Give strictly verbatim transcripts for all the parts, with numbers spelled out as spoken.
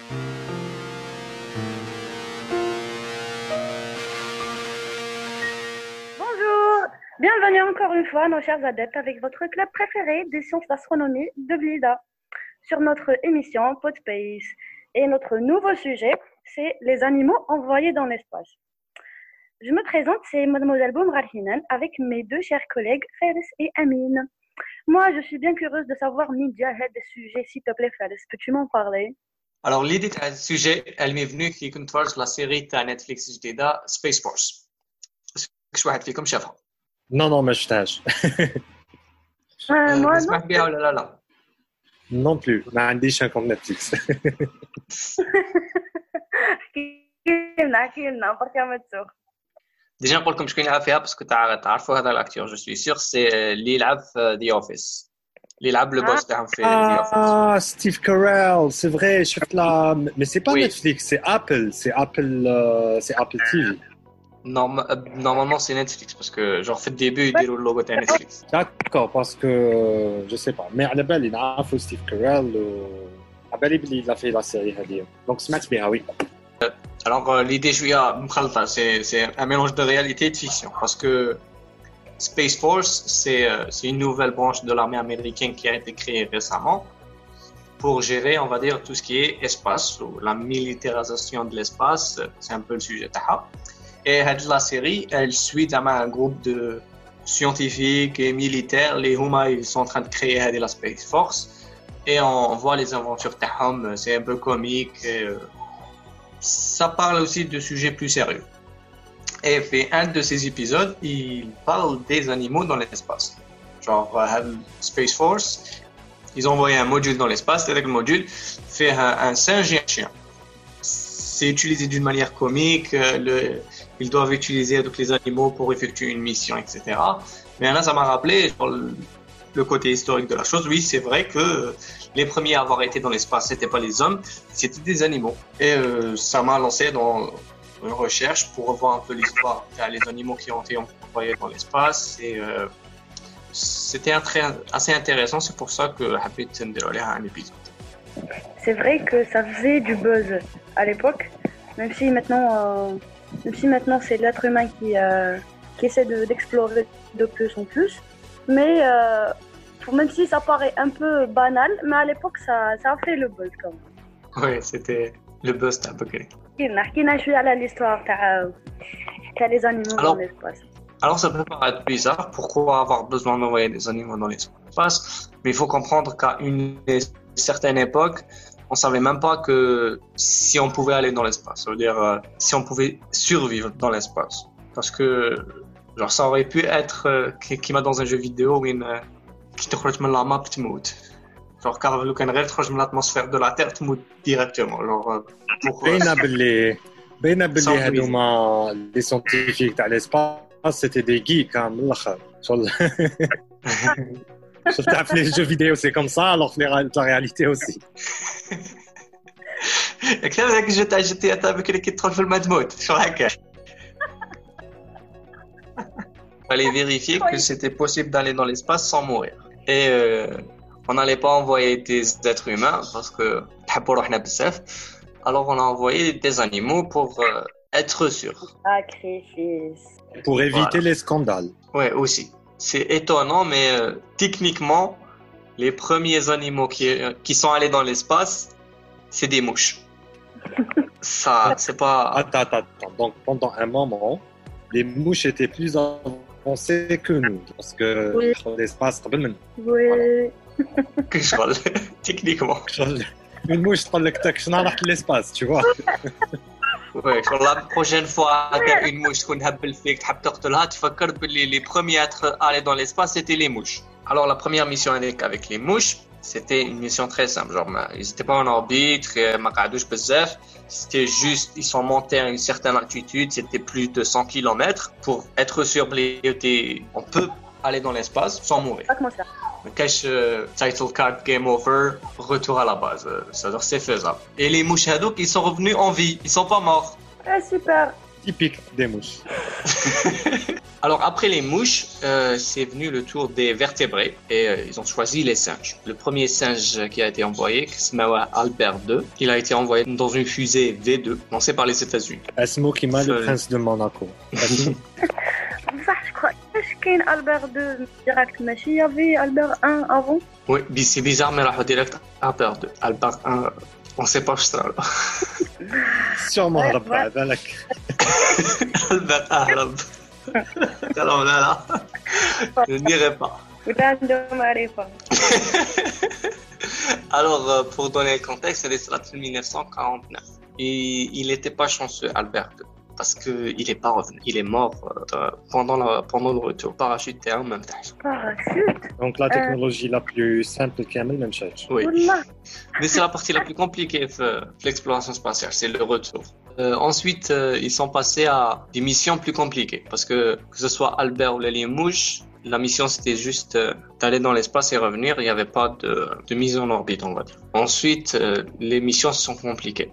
Bonjour, bienvenue encore une fois, nos chers adeptes, avec votre club préféré des sciences d'astronomie de Blida, sur notre émission Podspace. Et notre nouveau sujet, c'est les animaux envoyés dans l'espace. Je me présente, c'est Mademoiselle Boumrahinen, avec mes deux chers collègues Fares et Amine. Moi, je suis bien curieuse de savoir, Midja, des sujets, s'il te plaît, Fares, peux-tu m'en parler? Alors, l'idée de ce sujet, elle m'est venue qui كنت la série de Netflix جديدة Space Force. شو واحد فيكم شافها؟ Non, non, ما شفتهاش. Moi, تسمح بها ولا لا لا؟ Non plus, ما عنديش un compte Netflix. احكي لنا احكي لنا بركة ما تسوق. ديجا نقول لكم شكون يلعب فيها باسكو تعرفوا هذا الاكتور جو سوي سيغ سي اللي يلعب في ذا اوفيس اللي يلعب لو بوس تاعهم في ذا اوفيس. Ah, Steve Carell, c'est vrai, شفت là, mais c'est pas Oui. Netflix, c'est Apple, c'est Apple, euh, c'est Apple T V. Norm- normalement c'est Netflix parce que genre fait le début ils disent le logo de Netflix. D'accord, parce que je sais pas, mais على بالي نعرفوا Steve Carell, على بالي بلي il a fait la série هذه. Donc سمعت بها, oui. Alors euh, l'idée شويه مخلطه, c'est c'est un mélange de réalité et de fiction parce que Space Force c'est euh, c'est une nouvelle branche de l'armée américaine qui a été créée récemment pour gérer, on va dire, tout ce qui est espace ou la militarisation de l'espace, c'est un peu le sujet تاعها. Et la série, elle suit un groupe de scientifiques et militaires, les Huma, ils sont en train de créer la Space Force, et on voit les aventures Tahom, c'est un peu comique, et, euh, ça parle aussi de sujets plus sérieux. Et puis un de ces épisodes, il parle des animaux dans l'espace. Genre, euh, Space Force, ils ont envoyé un module dans l'espace, et avec le module, fait un, un singe et un chien. C'est utilisé d'une manière comique, le, ils doivent utiliser donc, les animaux pour effectuer une mission, et cetera. Mais là, ça m'a rappelé genre, le, le côté historique de la chose. Oui, c'est vrai que les premiers à avoir été dans l'espace, c'était pas les hommes, c'était des animaux. Et euh, ça m'a lancé dans une recherche pour revoir un peu l'histoire des animaux qui ont été envoyés dans l'espace. Et euh, c'était un très, assez intéressant. C'est pour ça que Habit Tenderolé a un épisode. C'est vrai que ça faisait du buzz à l'époque, même si maintenant, euh, même si maintenant c'est l'être humain qui, euh, qui essaie de, d'explorer de plus en plus. Mais euh, pour, même si ça paraît un peu banal, mais à l'époque ça, ça a fait le buzz quand même. Oui, c'était le buzz تاع بكري. حكينا شوية على l'histoire تاع تاع les animaux Alors, dans l'espace. Alors ça peut paraître bizarre, pourquoi avoir besoin d'envoyer des animaux dans l'espace, mais il faut comprendre qu'à une certaine époque, on savait même pas que si on pouvait aller dans l'espace, ça veut dire euh, si on pouvait survivre dans l'espace. Parce que genre ça aurait pu être euh, qui m'a dans un jeu vidéo où une qui te خرج من la map تموت. Genre car le can غير تخرج من l'atmosphère de la Terre تموت directement. Genre euh, pour باينه باللي باينه باللي Sans هذوما لي سيانتيفيك تاع l'espace c'était des geeks hein, من الاخر. شغل شفت تعرف les jeux vidéo c'est comme ça alors que la réalité aussi. كثر ذاك الجو تاع جي تي اي تاع بكري كي تدخل في الماء تموت شو هكا. Fallait vérifier que c'était possible d'aller dans l'espace sans mourir. Et euh, on n'allait pas envoyer des êtres humains parce que alors on a envoyé des animaux pour euh, être sûr. Sacrifice. Pour éviter Voilà. les scandales. Ouais, aussi. C'est étonnant, mais euh, techniquement, les premiers animaux qui, euh, qui sont allés dans l'espace, c'est des mouches. Ça, c'est pas... Attends, attends, attends. Donc pendant un moment, les mouches étaient plus avancées que nous. Parce que Oui. l'espace, قبل من. Oui. que je parle, techniquement. Une mouche تقول لك تاك شنو رحت l'espace, tu vois. Ouais, sur la prochaine fois, t'as une mouche تكون هبل فيك تحب تقتلها تفكر باللي les premiers à être allés dans l'espace c'était les mouches. Alors la première mission avec avec les mouches, c'était une mission très simple, genre ils étaient pas en orbite, ما قعدوش بزاف, c'était juste ils sont montés à une certaine altitude, c'était plus de cent kilomètres pour être sûr que on peut aller dans l'espace sans mourir. Pas comment ça. Cache euh, title card game over, retour à la base, euh, c'est-à-dire c'est faisable. Et les mouches hadouk, ils sont revenus en vie, ils sont pas morts. Ah, super. Typique des mouches. Alors après les mouches, euh, c'est venu le tour des vertébrés et euh, ils ont choisi les singes. Le premier singe qui a été envoyé, qui s'appelle Albert deux, il a été envoyé dans une fusée V deux lancée par les États-Unis. اسمه كيما le prince de Monaco. صح je crois اش كاين Albert deux direct ماشي il y avait Albert un avant. Oui, c'est bizarre mais راحوا direct Albert deux. Albert un, on sait pas ce que Sûrement هرب بعد لك. Albert هرب. Alors là là, je ne dirai pas. Alors, euh, pour donner le contexte, c'est de mille neuf cent quarante-neuf. Et il n'était pas chanceux, Albert deux, parce qu'il n'est pas revenu. Il est mort euh, pendant, la, pendant le retour. Parachute et en même temps. Parachute. Donc la technologie euh... la plus simple qui a même chose. Oui. Mais c'est la partie la plus compliquée de l'exploration spatiale, c'est le retour. Euh, ensuite, euh, ils sont passés à des missions plus compliquées, parce que que ce soit Albert ou les mouches, la mission c'était juste euh, d'aller dans l'espace et revenir. Il n'y avait pas de, de mise en orbite, on va dire. Ensuite, euh, les missions se sont compliquées.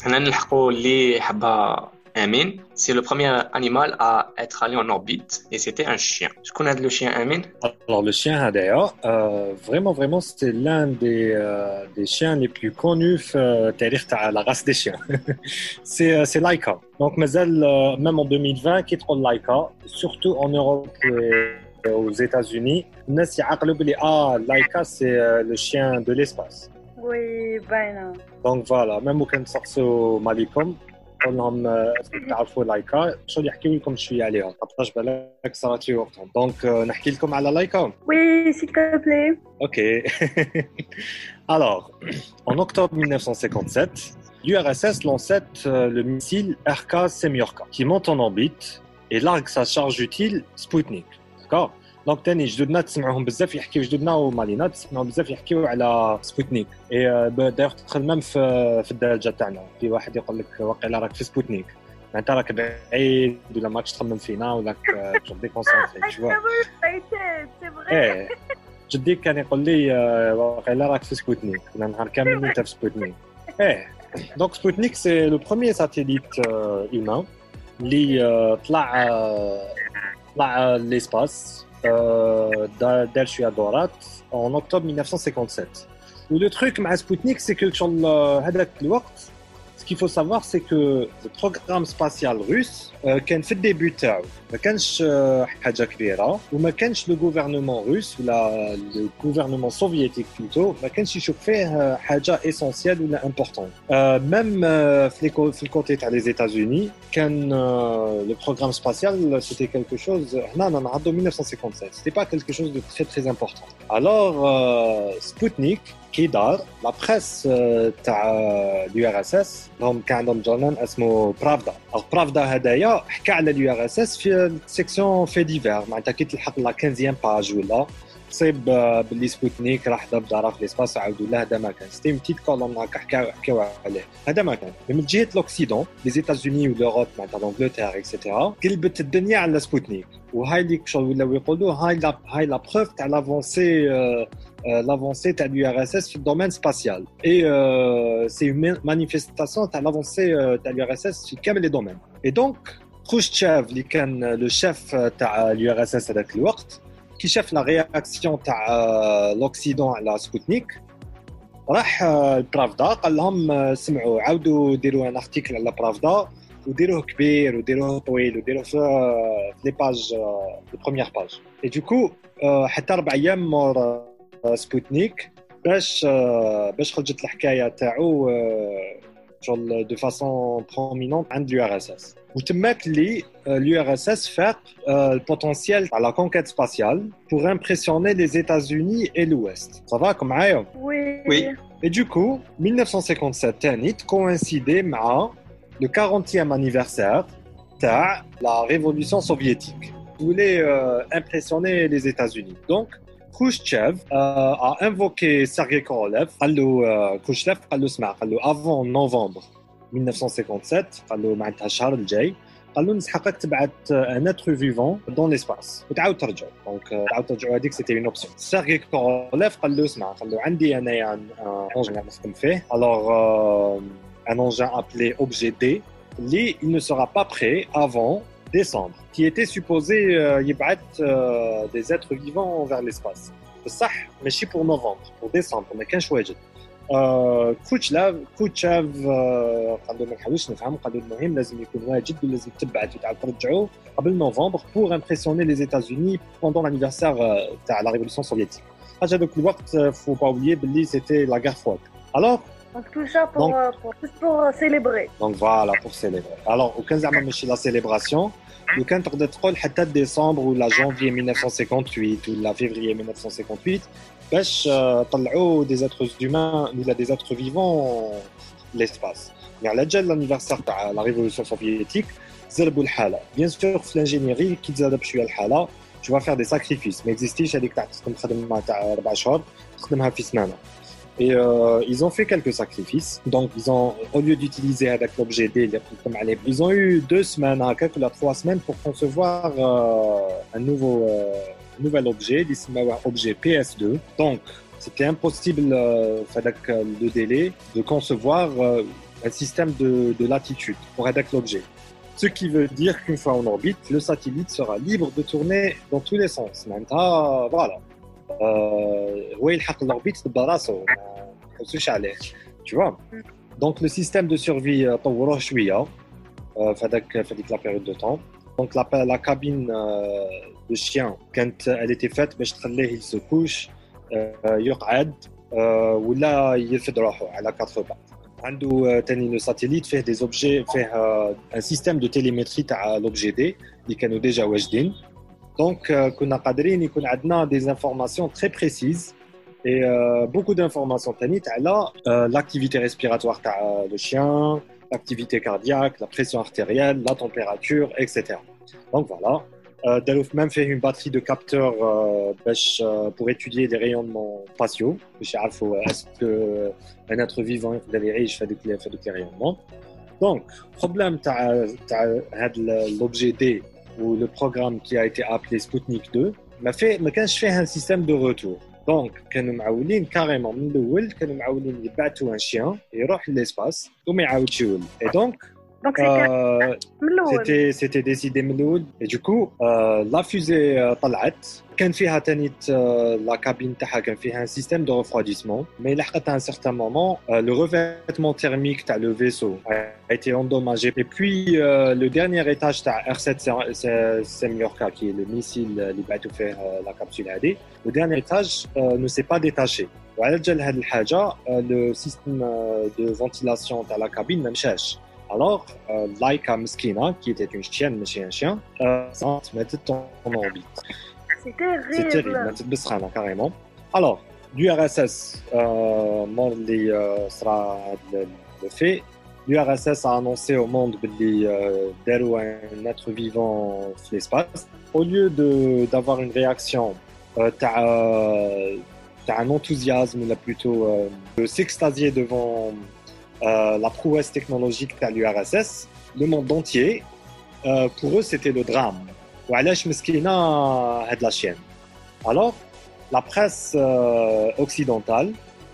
Amin, c'est le premier animal à être allé en orbite et c'était un chien. Je connais le chien Amin. Alors le chien d'ailleurs, euh, vraiment vraiment c'est l'un des euh, des chiens les plus connus dans la race des chiens. c'est c'est Laika. Donc mazal même en deux mille vingt qui est Laika, surtout en Europe et aux États-Unis, الناس يعقلوا بلي ah Laika c'est le chien de l'espace. Oui, ben. Donc voilà, même au كان تسقسوا مالكم قولهم تعرفوا لايكا شو اللي يحكيوا لكم شويه عليها خاطرش بالك صارت لي وقتهم دونك نحكي لكم على لايكا. Oui, s'il te plaît. Ok. Alors, en octobre mille neuf cent cinquante-sept, l'U R S S lançait le missile R K Semyorka qui monte en orbite et largue sa charge utile Sputnik. D'accord? دونك تاني جدودنا تسمعوهم بزاف يحكيو جدودنا ومالينا تسمعوا بزاف يحكيو على سبوتنيك اي دايوغ تدخل ميم في في الدارجه تاعنا في واحد يقول لك واقيلا راك في سبوتنيك معناتها راك بعيد ولا ماكش تخمم فينا ولا جو ديكونسونطري تو ايه جدي كان يقول لي واقيلا راك في سبوتنيك ولا نهار كامل انت في سبوتنيك ايه دونك سبوتنيك سي لو بروميير ساتيليت هيومان اللي طلع طلع ليسباس دار شويه دورات en octobre mille neuf cent cinquante-sept. Et le truc avec Sputnik, c'est que هذاك الوقت ce qu'il faut savoir c'est que le programme spatial russe كان في الديبي تاعو ما كانش حاجه كبيره وما كانش لو gouvernement russe ولا le gouvernement soviétique plutôt ما كانش يشوف فيه حاجه essentielle ولا importante. même في في الكوتي تاع les États-Unis كان le programme spatial c'était quelque chose هنا نعرضوا mille neuf cent cinquante-sept c'était pas quelque chose de très très important. Alors Sputnik كي دار لا بريس تاع اليو ار اس اس هم كان عندهم جورنال اسمه برافدا. برافدا هدايا حكى على اليو ار اس اس في السيكسيون في ديفير معناتها كي تلحق لا خمسين باج ولا تصيب باللي سبوتنيك راح دار في الاسباس عاودوا له هذا ما كان ستي بتيت كولوم هكا حكاو حكاو عليه هذا ما كان. من جهه لوكسيدون لي زيتازوني ولوروب معناتها لانجلتير اكسيتيرا قلبت الدنيا على سبوتنيك وهاي اللي شغل ولاو يقولوا هاي لا هاي لا بروف تاع لافونسي l'avancée de l'U R S S dans le domaine spatial. Et euh, c'est une manifestation de l'avancée de l'U R S S dans tous les domaines. Et donc, Khrouchtchev, qui était le chef de l'U R S S à ce moment, qui chef la réaction de l'Occident à la Sputnik, راح البرافدا قال لهم سمعوا عاودوا ديروا ان ارتيكل على برافدا وديروه كبير وديروه طويل وديروه في لي باج لي بروميير باج. Et du coup حتى أربع أيام مور سبوتنيك باش باش خرجت الحكايه تاعو شغل دو فاسون برومينونت عند اليو ار اس اس وتماك اللي اليو ار اس اس فاق البوتنسيال تاع لا كونكيت سباسيال pour impressionner les États-Unis et l'Ouest. Ça va comme معايا؟ Oui. Oui. Et du coup mille neuf cent cinquante-sept تاني coïncidé مع le quarantième anniversaire تاع la révolution soviétique. Il voulait euh, impressionner les États-Unis. Donc Khrouchtchev euh, a invoqué Sergei Korolev. قال له Khrouchtchev قال له اسمع قال له avant novembre mille neuf cent cinquante-sept قال له معناتها الشهر الجاي قال له نسحقك تبعت un être vivant dans l'espace وتعاود ترجع. دونك تعاود ترجعوا هذيك c'était une option. Sergei Korolev قال له اسمع قال له عندي انايا un engin نخدم فيه. Alors euh, un engin appelé objet D اللي il ne sera pas prêt avant décembre, qui était supposé euh, يبعث euh, des êtres vivants vers l'espace. بصح ماشي pour novembre, pour décembre, ما كانش واجد. آه كروتشلاف كروتشاف آه قالوا ما نحاولش نفهم، قالوا المهم لازم يكون واجد ولازم تبعث وتعاود ترجعوا قبل نوفمبر pour impressionner les États-Unis pendant l'anniversaire تاع la révolution soviétique. حاجه هذوك الوقت faut pas oublier باللي c'était la guerre froide. Alors Donc tout ça pour, donc, euh, pour, juste pour euh, célébrer. Donc voilà, pour célébrer. Alors, aucun زعما ماشي la célébration. لو كان تقدر تقول حتى ديسمبر ولا janvier mille neuf cent cinquante-huit ولا février mille neuf cent cinquante-huit باش طلعوا des êtres humains ولا des êtres vivants l'espace. Mais على جال l'anniversaire تاع la révolution soviétique زربوا الحاله. Bien sûr في l'ingénierie كي تزاد بشويه الحاله tu vas faire des sacrifices. ما existيش هذيك تاع تخدم خدمه تاع أربع شهور تخدمها في سنانه. Et euh, ils ont fait quelques sacrifices. Donc, ils ont, au lieu d'utiliser avec l'objet D, ils ont eu deux semaines, à quelques ou trois semaines pour concevoir euh, un nouveau, euh, nouvel objet, l'objet P S deux. Donc, c'était impossible, euh, avec le délai, de concevoir euh, un système de, de latitude pour avec l'objet. Ce qui veut dire qu'une fois en orbite, le satellite sera libre de tourner dans tous les sens. Maintenant, voilà. هو يلحق l'orbite براسو ما نحوسوش عليه tu vois. Donc le système de survie طوروه شويه في هذاك في هذيك la période de temps. Donc la la cabine de chien كانت elle était faite باش تخليه il se couche يقعد ولا يرفد روحه على quatre pattes. عنده تاني le satellite فيه des objets فيه un système de télémétrie تاع l'objet D اللي كانوا déjà واجدين. Donc, كنا قادرين يكون عندنا des informations très précises et euh, beaucoup d'informations تانيت على euh, l'activité respiratoire تاع le chien, l'activité cardiaque, la pression artérielle, la température, et cetera. Donc voilà. داروا même fait une batterie de capteurs euh, باش euh, pour étudier les rayonnements spatiaux باش يعرفوا est-ce que un être vivant يقدر يعيش في هذوك في هذوك les rayonnements. Donc, problème تاع تاع هذا l'objet D ou le programme qui a été appelé Sputnik deux ما fait ما كانش فيه un système de retour. Donc كانوا معولين carrément من الاول كانوا معولين يبعثوا un chien يروح للespace وما يعاودش يولي. Et donc Donc euh, c'était c'était c'était décidé من الاول. Et du coup euh, la fusée euh, طلعت كان فيها تانيت la cabine تاعها كان فيها un système de refroidissement mais لحقت à un certain moment euh, le revêtement thermique تاع le vaisseau a été endommagé et puis euh, le dernier étage تاع R sept Semyorka qui est le missile اللي بعثوا فيه la capsule هذه le dernier étage euh, ne s'est pas détaché. وعلى جال هذه الحاجه le système de ventilation تاع la cabine ما مشاش. Alors, euh, Laika Mskina, qui était une chienne, mais un chien, euh, ça se mettait en orbite. C'est terrible. C'est terrible, c'est carrément. Alors, l'U R S S, euh, les, euh, sera le, le fait. L'U R S S a annoncé au monde qu'il y a un être vivant dans l'espace. Au lieu de, d'avoir une réaction, euh, t'as, euh, t'as un enthousiasme, là plutôt euh, de s'extasier devant Euh, la prouesse technologique de l'U R S S, le monde entier, euh, pour eux, c'était le drame. وعلاش مسكينة هاد la chienne. Alors, la presse euh, occidentale,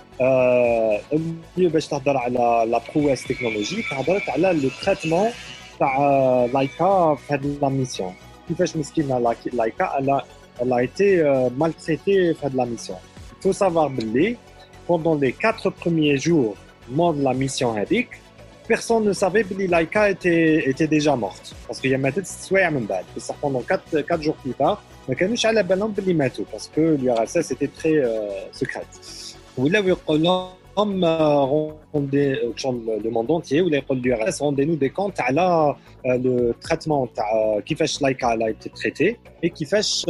euh, باش تهضر على la prouesse technologique, هضرت على le traitement تاع لايكا في هاد la mission. كيفاش مسكينة لايكا elle a, elle a été euh, maltraitée في هاد la mission. Il faut savoir باللي pendant les quatre premiers jours de la mission هذيك personne ne savait que Laika était, était déjà morte parce qu'il y a maintenant سوايع من بعد بس pendant quatre, quatre jours plus tard ما كانوش على بالهم بلي ماتوا parce que l'U R S S était très euh, secrète. ولاو يقولوا لهم rendez le monde entier ولا يقول l'U R S S rendez-nous des comptes على le traitement تاع كيفاش لايكا a été traité et كيفاش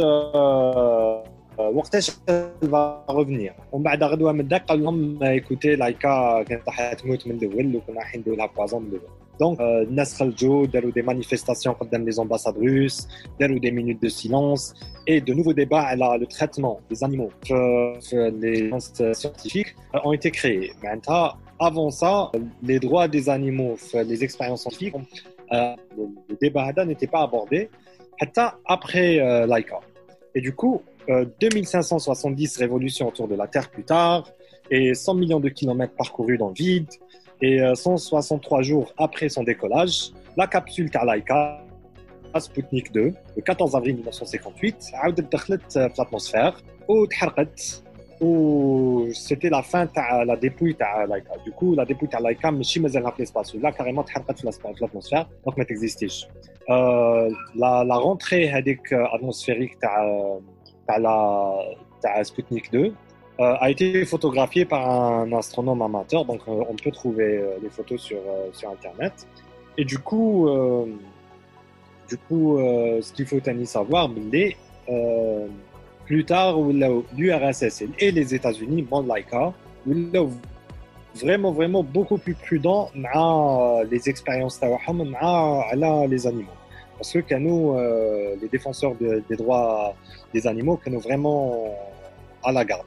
وقتاش va revenir. ومن بعد غدوه من الدق قال لهم écoutez لايكا كانت راح تموت من الاول وكنا راح نديروا لها بوازون من الاول. دونك الناس خرجوا داروا des manifestations قدام les ambassades russes, داروا des minutes de silence et de nouveaux débats على le traitement des animaux في les scientifiques ont été créés. معناتها avant ça les droits des animaux les expériences scientifiques euh, le débat هذا n'était pas abordé حتى après euh, Laika. Et du coup Euh, deux mille cinq cent soixante-dix révolutions autour de la Terre plus tard et cent millions de kilomètres parcourus dans le vide et euh, cent soixante-trois jours après son décollage, la capsule Laika Sputnik deux, le quatorze avril mille neuf cent cinquante-huit, عاودت دخلت في l'atmosphère وتحرقت. و c'était la fin تاع la dépouille تاع Laika. Du coup, la dépouille تاع Laika ماشي مازالها في l'espace. Là, carrément تحرقت في l'atmosphère, donc ما تexistيش. Euh, la, la rentrée هذيك atmosphérique تاع تاع la تاع Sputnik deux euh, a été photographiée par un astronome amateur, donc euh, on peut trouver euh, les photos sur euh, sur internet. Et du coup, euh, du coup, euh, ce qu'il faut tenir savoir, c'est euh, plus tard, l'U R S S et les États-Unis, bon Laika, vraiment, vraiment beaucoup plus prudents dans les expériences avec les animaux. Parce que nous, euh, les défenseurs de, des droits des animaux, nous vraiment à la garde.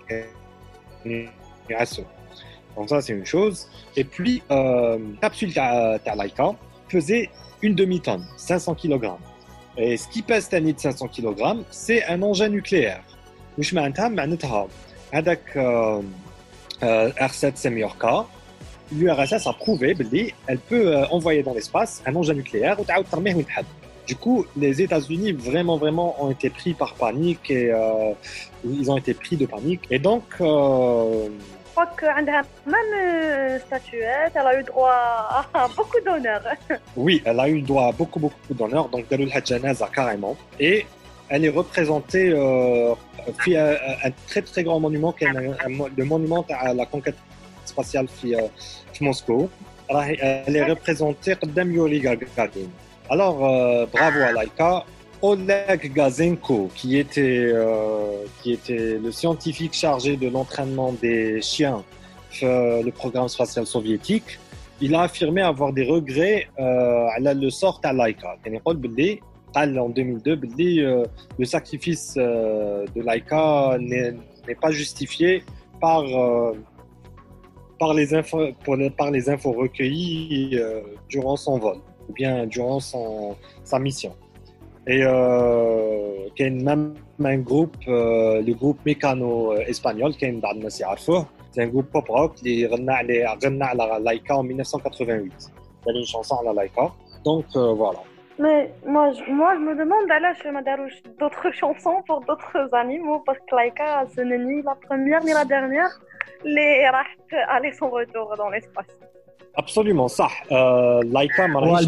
Donc ça, c'est une chose. Et puis, euh, capsule de Laika faisait une demi-tonne, cinq cents kilogrammes. Et ce qui pèse de cinq cents kilogrammes, c'est un engin nucléaire. واش معناتها معناتها هذاك R sept Semyorka, l'U R S S a prouvé qu'elle peut envoyer dans l'espace un engin nucléaire ou تعاود ترميه وين تحب. Du coup, les États-Unis vraiment vraiment ont été pris par panique et euh, ils ont été pris de panique et donc euh, je crois qu'elle a même une statuette, elle a eu droit à beaucoup d'honneur. Oui, elle a eu droit à beaucoup beaucoup d'honneur, donc داروا لها جنازة carrément et elle est représentée euh, في un très très grand monument qui est le monument à la conquête spatiale في في Moscou. Elle est représentée قدام Yuri Gagarin. Alors euh, bravo à Laika. Oleg Gazenko, qui était euh, qui était le scientifique chargé de l'entraînement des chiens euh, le programme spatial soviétique, il a affirmé avoir des regrets euh, à le sort à Laika. يعني يقول باللي قال en deux mille deux باللي euh, le sacrifice euh, de Laika n'est, n'est pas justifié par euh, par les infos pour les, par les infos recueillies euh, durant son vol ou bien durant son sa mission. Et euh, qu'il y a même un groupe, euh, le groupe Mécano espagnol, qui est un c'est un groupe pop rock qui a à la Laika en mille neuf cent quatre-vingt-huit. Il y a une chanson à la Laika. Donc euh, voilà. Mais moi je, moi, je me demande je me d'autres chansons pour d'autres animaux parce que Laika, ce n'est ni la première ni la dernière. Les raht aller son retour dans l'espace. Absolument, ça. Euh, Laika, Maraish,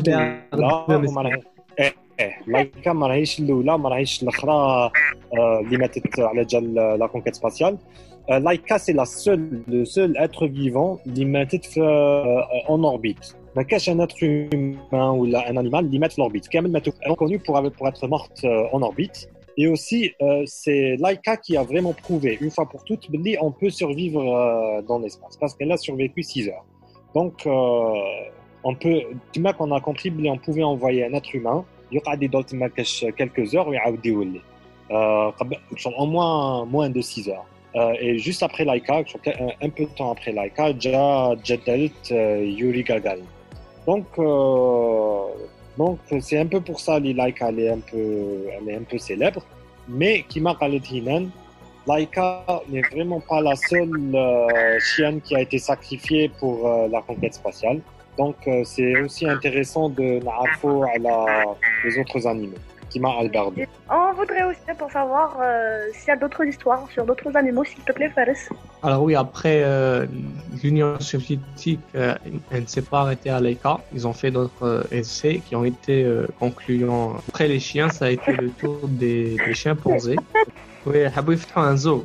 لايكا ما راهيش الاولى ما راهيش الاخرى اللي ماتت على جال لا كونكيت سباسيال. لايكا سي لا سول لو سول اتر فيفون اللي ماتت في اون اوربيت. ما كاش ان اتر هيومان ولا ان انيمال اللي مات في الاوربيت كامل ماتوا كونو pour pour être morte en orbite. Et aussi euh, c'est Laika qui a vraiment prouvé une fois pour toutes que on peut survivre euh, dans l'espace parce qu'elle a survécu six heures. Donc euh, on peut tu m'as qu'on a compris qu'on pouvait envoyer un être humain يقعد يضل تما quelques heures ويعاود يولي en moins moins de six heures. Euh, et juste après Laika, un peu de temps après Laika, جا جدلت Yuri Gagarin. Donc euh, donc c'est un peu pour ça que Laika elle est un peu elle est un peu célèbre, mais كيما قالت هينان Laika n'est vraiment pas la seule euh, chienne qui a été sacrifiée pour euh, la conquête spatiale. Donc, euh, c'est aussi intéressant de n'arrêter à la, les autres animaux, qui m'a Alberto. On voudrait aussi pour savoir euh, s'il y a d'autres histoires sur d'autres animaux, s'il te plaît, Fares. Alors oui, après euh, l'Union soviétique, euh, elle ne s'est pas arrêtée à Laika. Ils ont fait d'autres euh, essais qui ont été euh, concluants. Après les chiens, ça a été le tour des, des chimpanzés. Oui, Habou fait un zoo.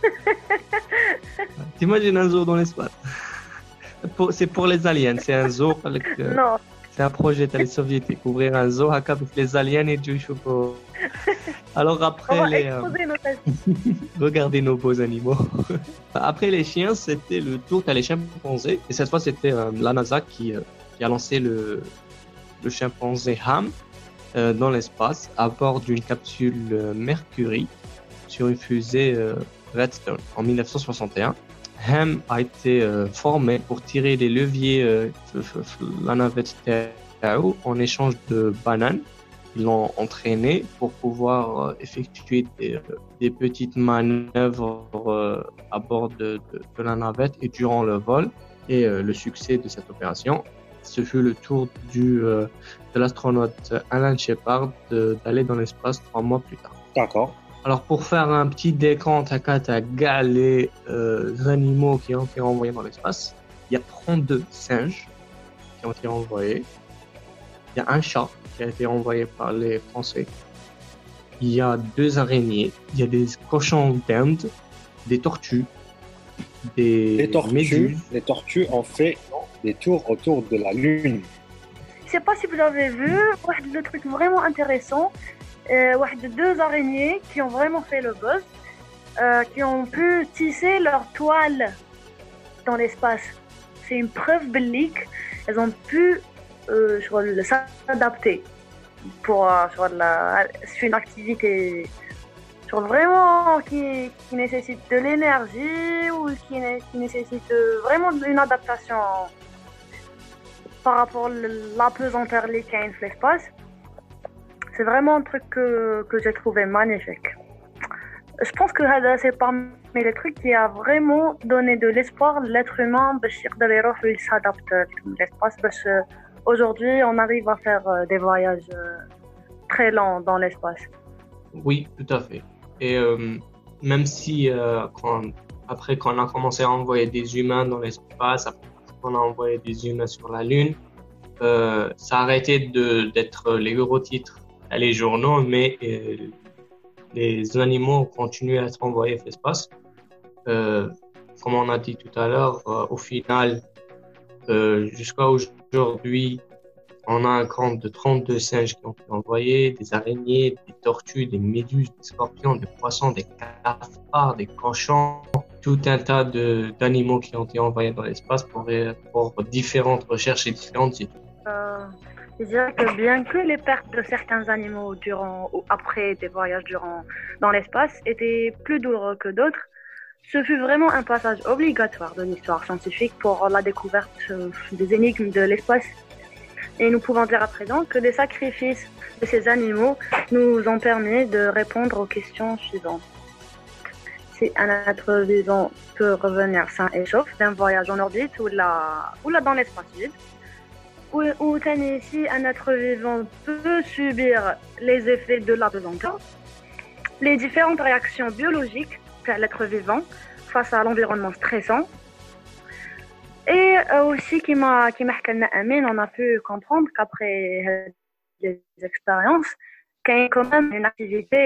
T'imagines un zoo dans l'espace? Pour, c'est pour les aliens, c'est un zoo. Avec, euh, non. C'est un projet des soviétiques, ouvrir un zoo avec les aliens et du choupo. Alors après on va les, exposer euh, nos regardez nos beaux animaux. Après les chiens, c'était le tour à les chimpanzés. Et cette fois, c'était euh, la NASA qui, euh, qui a lancé le, le chimpanzé Ham euh, dans l'espace à bord d'une capsule euh, Mercury sur une fusée euh, Redstone en mille neuf cent soixante et un. Ham a été euh, formé pour tirer les leviers euh, la navette Tao en échange de bananes. Ils l'ont entraîné pour pouvoir euh, effectuer des, euh, des petites manœuvres euh, à bord de, de, de la navette et durant le vol. Et euh, le succès de cette opération ce fut le tour du, euh, de l'astronaute Alan Shepard de- d'aller dans l'espace trois mois plus tard. D'accord. Alors, pour faire un petit décompte à quatre à gars les euh, animaux qui ont été envoyés dans l'espace, il y a trente-deux singes qui ont été envoyés. Il y a un chat qui a été envoyé par les Français. Il y a deux araignées. Il y a des cochons d'Inde, des tortues, des Les tortues, méduses. les tortues ont fait des tours autour de la Lune. Je sais pas si vous avez vu, le truc vraiment intéressant, euh, واحد de deux araignées qui ont vraiment fait le buzz, euh, qui ont pu tisser leur toile dans l'espace. C'est une preuve bellique, elles ont pu euh, sur le- s'adapter pour euh, sur la, c'est une activité sur vraiment qui, qui nécessite de l'énergie ou qui, né- qui nécessite euh, vraiment une adaptation par rapport à l'apesanteur les qu'il y a dans l'espace. C'est vraiment un truc que, que j'ai trouvé magnifique. Je pense que هذا c'est parmi les trucs qui a vraiment donné de l'espoir à l'être humain باش يقدر يروح il s'adapte à l'espace باش aujourd'hui on arrive à faire euh, des voyages euh, très lents dans l'espace. Oui, tout à fait. Et euh, même si euh, quand, après qu'on a commencé à envoyer des humains dans l'espace, après qu'on a envoyé des humains sur la Lune, euh, ça a arrêté de- d'être les gros titres à les journaux, mais euh, les animaux ont continué à être envoyés dans l'espace. Euh, comme on a dit tout à l'heure, euh, au final, euh, jusqu'à aujourd'hui, on a un compte de trente-deux singes qui ont été envoyés, des araignées, des tortues, des méduses, des scorpions, des poissons, des cafards, des cochons, tout un tas de- d'animaux qui ont été envoyés dans l'espace pour, pour différentes recherches et différentes études. Euh, je dirais que bien que les pertes de certains animaux durant ou après des voyages durant dans l'espace étaient plus douloureux que d'autres, ce fut vraiment un passage obligatoire de l'histoire scientifique pour la découverte euh, des énigmes de l'espace. Et nous pouvons dire à présent que les sacrifices de ces animaux nous ont permis de répondre aux questions suivantes. Si un être vivant peut revenir sain et sauf d'un voyage en orbite ou là, ou là dans l'espace vide, ou, ou si un être vivant peut subir les effets de l'apesanteur, les différentes réactions biologiques de l'être vivant face à l'environnement stressant. Et euh, aussi, qui m'a qui m'a حكى لنا Amine, on a pu comprendre qu'après euh, les expériences, qu'il y a quand même une activité,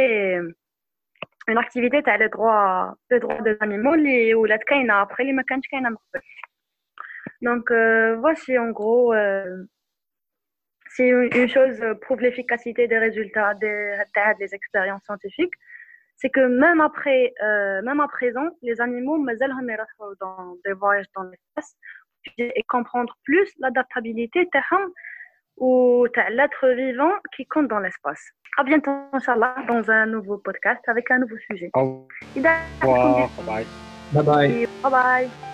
une activité تاع les droits, les droits des animaux اللي ولات كاينة après اللي ما كانتش كاينة من قبل. Donc euh, voici en gros, euh, si une une chose prouve l'efficacité des résultats des, des expériences scientifiques, c'est que même après, euh, même à présent, les animaux مازالهم يروحوا dans des voyages dans l'espace et comprendre plus l'adaptabilité تاعهم ou تاع l'être vivant qui compte dans l'espace. À bientôt, Inch'Allah, dans un nouveau podcast avec un nouveau sujet. Au إذا عندكم revoir. des- Bye. Bye bye. Bye bye.